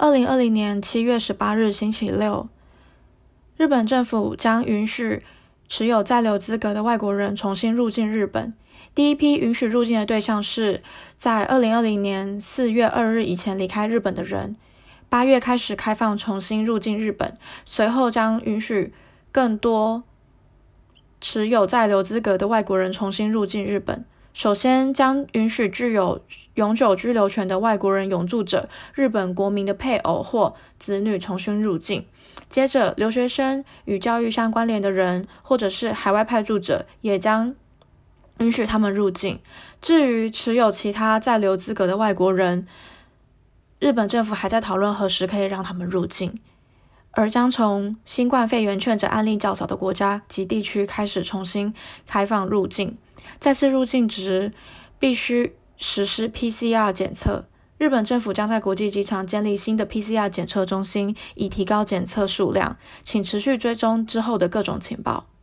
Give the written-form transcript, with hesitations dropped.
2020年7月18日星期六，日本政府将允许持有在留资格的外国人重新入境日本。第一批允许入境的对象是在2020年4月2日以前离开日本的人。8月开始开放重新入境日本，随后将允许更多持有在留资格的外国人重新入境日本。首先将允许具有永久居留权的外国人永住者、日本国民的配偶或子女重新入境。接着，留学生与教育相关联的人，或者是海外派驻者，也将允许他们入境。至于持有其他在留资格的外国人，日本政府还在讨论何时可以让他们入境，而将从新冠肺炎确诊案例较少的国家及地区开始重新开放入境。再次入境时必须实施 PCR 检测。日本政府将在国际机场建立新的 PCR 检测中心，以提高检测数量。请持续追踪之后的各种情报。